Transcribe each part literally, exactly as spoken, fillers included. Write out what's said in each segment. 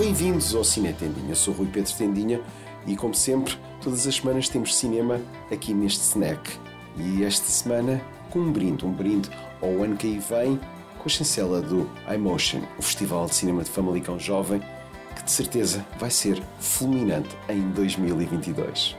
Bem-vindos ao Cine Tendinha. Sou Rui Pedro Tendinha e, como sempre, todas as semanas temos cinema aqui neste snack. E esta semana com um brinde, um brinde ao ano que aí vem, com a chancela do iMotion, o Festival de Cinema de Famalicão Jovem, que de certeza vai ser fulminante em dois mil e vinte e dois.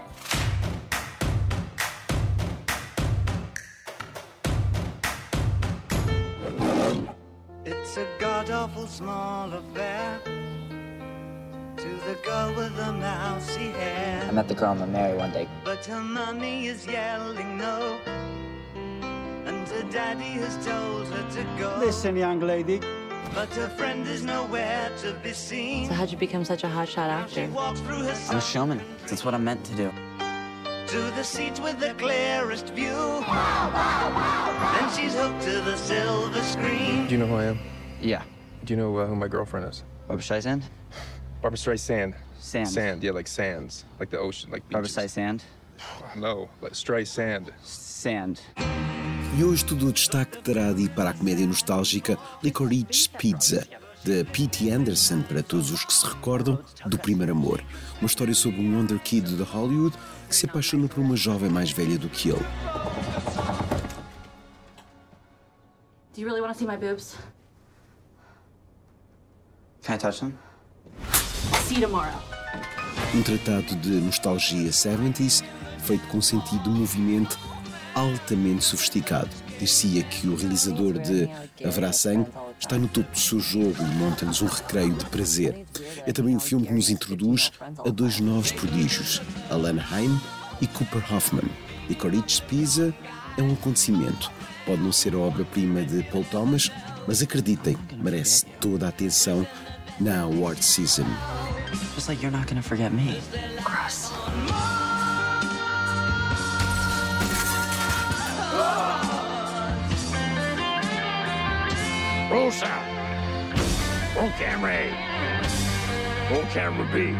It's a god-awful small affair to the girl with the mousy hair. I met the girl I'm gonna marry one day. But her mommy is yelling no, and her daddy has told her to go. Listen, young lady. But her friend is nowhere to be seen. So how'd you become such a hotshot actor? She walks through her I'm a showman. That's what I'm meant to do. to the seat with the clearest view. Then she's hooked to the silver screen. Do you know who I am? Yeah. Do you know uh, who my girlfriend is? Barbra Streisand? Barbra Streisand. Sand. Sand, yeah, like sands, like the ocean, like Barbra beaches. Streisand? No, like Streisand. Sand. E hoje todo o destaque terá de ir para a comédia nostálgica Licorice Pizza, de P T Anderson, para todos os que se recordam do Primeiro Amor. Uma história sobre um wonder kid de Hollywood que se apaixona por uma jovem mais velha do que ele. Do you really want to see my boobs? Can I touch them? See you tomorrow. Um tratado de nostalgia setenta, feito com sentido de movimento altamente sofisticado. Dir-se-ia que o realizador de Haverá Sangue está no topo do seu jogo e monta-nos um recreio de prazer. É também um filme que nos introduz a dois novos prodígios, Alan Haim e Cooper Hoffman. Licorice Pizza é um acontecimento. Pode não ser a obra-prima de Paul Thomas, mas acreditem, merece toda a atenção na award season. Just like you're not gonna forget me. Gross. Roll sound. Roll camera A. Roll camera B.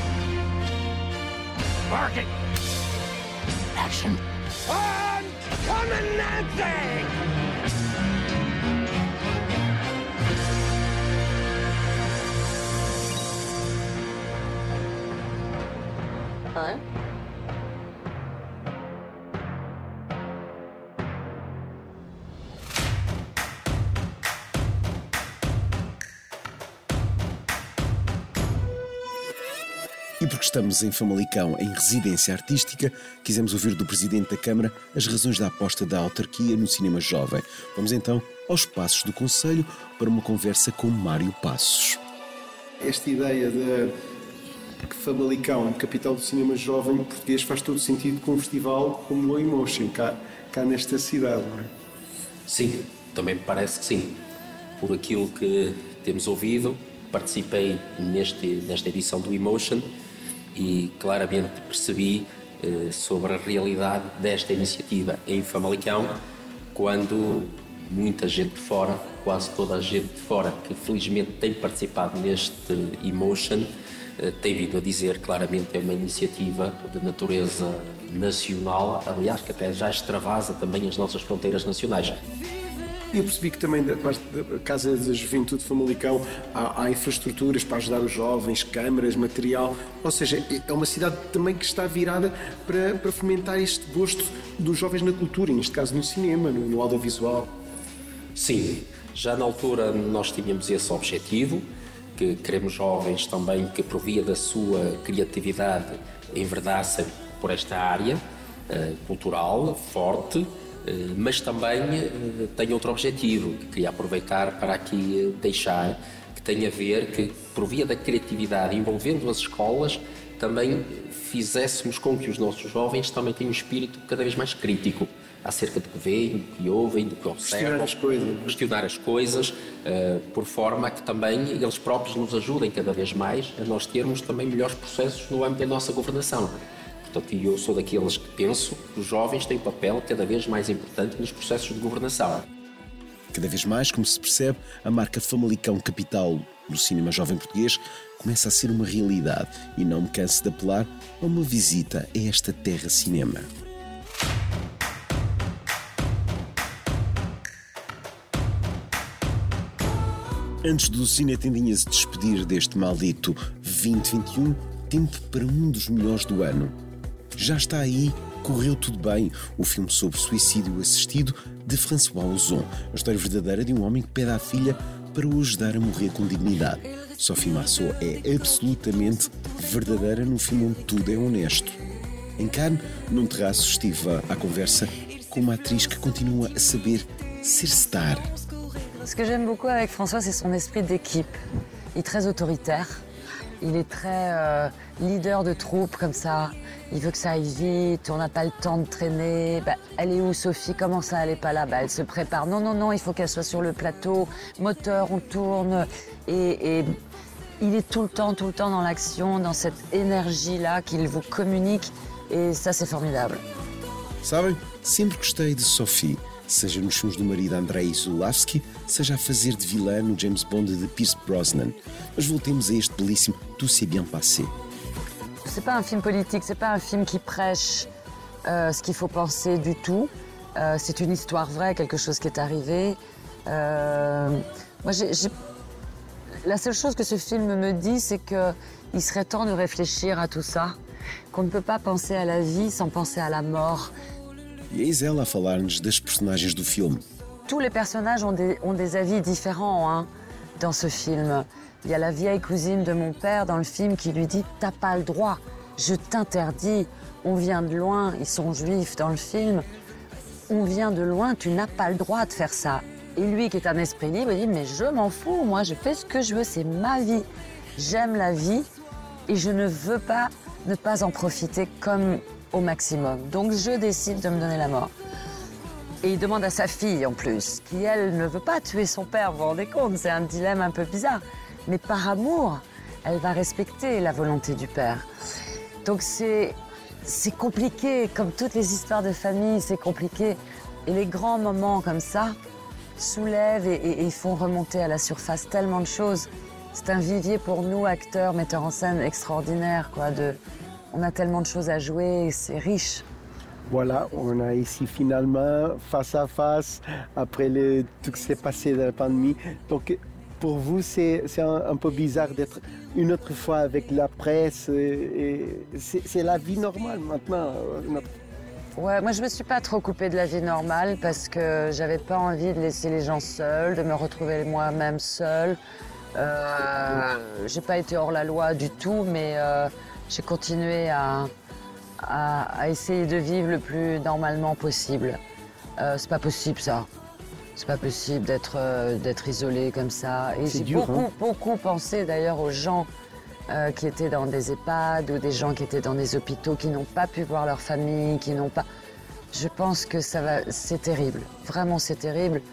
Marking. Action. I'm coming, Nancy! Hello? E porque estamos em Famalicão, em residência artística, quisemos ouvir do Presidente da Câmara as razões da aposta da autarquia no cinema jovem. Vamos então aos passos do Conselho para uma conversa com Mário Passos. Esta ideia de que Famalicão, capital do cinema jovem português, faz todo sentido com um festival como o iMotion, cá, cá nesta cidade, não é? Sim, também me parece que sim. Por aquilo que temos ouvido, participei neste, nesta edição do iMotion e claramente percebi eh, sobre a realidade desta iniciativa em Famalicão, quando muita gente de fora, quase toda a gente de fora que felizmente tem participado neste iMotion, eh, tem vindo a dizer claramente é uma iniciativa de natureza nacional, aliás que até já extravasa também as nossas fronteiras nacionais. E eu percebi que também da parte da Casa da Juventude de Famalicão há, há infraestruturas para ajudar os jovens, câmaras, material, ou seja, é uma cidade também que está virada para, para fomentar este gosto dos jovens na cultura, e neste caso no cinema, no, no audiovisual. Sim, já na altura nós tínhamos esse objetivo, que queremos jovens também que por via da sua criatividade enverdassem por esta área uh, cultural forte, mas também tem outro objetivo que queria aproveitar para aqui deixar, que tem a ver que, por via da criatividade, envolvendo as escolas, também fizéssemos com que os nossos jovens também tenham um espírito cada vez mais crítico acerca do que veem, do que ouvem, do que observam. Questionar as coisas. Questionar as coisas, por forma a que também eles próprios nos ajudem cada vez mais a nós termos também melhores processos no âmbito da nossa governação. Portanto, eu sou daqueles que penso que os jovens têm um papel cada vez mais importante nos processos de governação. Cada vez mais, como se percebe, a marca Famalicão Capital do cinema jovem português começa a ser uma realidade e não me canso de apelar a uma visita a esta terra cinema. Antes do Cine Tendinha se despedir deste maldito vinte vinte e um, tempo para um dos melhores do ano. Já está aí Correu Tudo Bem, o filme sobre suicídio assistido de François Ozon, a história verdadeira de um homem que pede à filha para o ajudar a morrer com dignidade. Sophie Marceau é absolutamente verdadeira num filme onde tudo é honesto. Em Cannes, num terraço, estive à conversa com uma atriz que continua a saber ser star. Ce que j'aime beaucoup avec François, c'est son esprit d'équipe. Il est très autoritaire, il est très euh, leader de troupe comme ça. Il veut que ça aille vite, on n'a pas le temps de traîner. Bah, elle est où Sophie? Comment ça, elle n'est pas là? Bah, elle se prépare. Non, non, non, il faut qu'elle soit sur le plateau. Moteur, on tourne. Et, et il est tout le temps, tout le temps dans l'action, dans cette énergie-là qu'il vous communique. Et ça, c'est formidable. Sabem, sempre gostei de Sophie, seja nos filmes do marido Andrei Zulawski, seja a fazer de vilã no James Bond de Pierce Brosnan. Mas voltemos a este belíssimo Tout s'est bien passé. C'est pas un film politique, c'est pas un film qui prêche euh, ce qu'il faut penser du tout. Euh, c'est une histoire vraie, quelque chose qui est arrivé. Euh, moi, j'ai, j'ai... La seule chose que ce film me dit, c'est qu'il serait temps de réfléchir à tout ça, qu'on ne peut pas penser à la vie sans penser à la mort. E eis ela a falar-nos das personagens do filme. Tous les personnages ont des, ont des avis différents hein, dans ce film. Il y a la vieille cousine de mon père dans le film qui lui dit « T'as pas le droit, je t'interdis, on vient de loin, ils sont juifs dans le film, on vient de loin, tu n'as pas le droit de faire ça. » Et lui qui est un esprit libre, il dit « Mais je m'en fous, moi je fais ce que je veux, c'est ma vie. J'aime la vie et je ne veux pas ne pas en profiter comme au maximum. Donc je décide de me donner la mort. » Et il demande à sa fille en plus, qui elle ne veut pas tuer son père, vous vous rendez compte, c'est un dilemme un peu bizarre. Mais par amour, elle va respecter la volonté du père. Donc c'est, c'est compliqué, comme toutes les histoires de famille, c'est compliqué. Et les grands moments comme ça soulèvent et, et, et font remonter à la surface tellement de choses. C'est un vivier pour nous, acteurs, metteurs en scène extraordinaires, quoi. De, on a tellement de choses à jouer, et c'est riche. Voilà, on a ici finalement face à face, après le, tout ce qui s'est passé dans la pandémie. Donc, pour vous, c'est, c'est un, un peu bizarre d'être une autre fois avec la presse. Et, et c'est, c'est la vie normale maintenant. Notre... Ouais, moi je me suis pas trop coupée de la vie normale parce que j'avais pas envie de laisser les gens seuls, de me retrouver moi-même seule. Euh, j'ai pas été hors la loi du tout, mais euh, j'ai continué à, à, à essayer de vivre le plus normalement possible. Euh, c'est pas possible ça. C'est pas possible d'être, euh, d'être isolé comme ça. Et c'est j'ai dur, beaucoup, hein. beaucoup pensé d'ailleurs aux gens euh, qui étaient dans des EHPAD ou des gens qui étaient dans des hôpitaux, qui n'ont pas pu voir leur famille, qui n'ont pas... Je pense que ça va... C'est terrible. Vraiment, c'est terrible.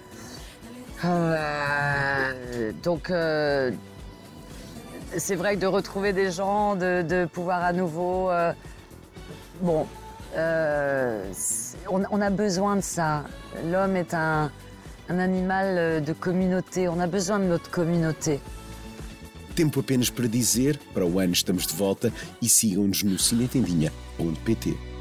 Euh, donc, euh, c'est vrai que de retrouver des gens, de, de pouvoir à nouveau... Euh, bon... Euh, on, on a besoin de ça. L'homme est un, un animal de communauté. On a besoin de notre communauté. Tempo apenas para dizer, para o ano estamos de volta e sigam-nos no cinetendinha ponto pt.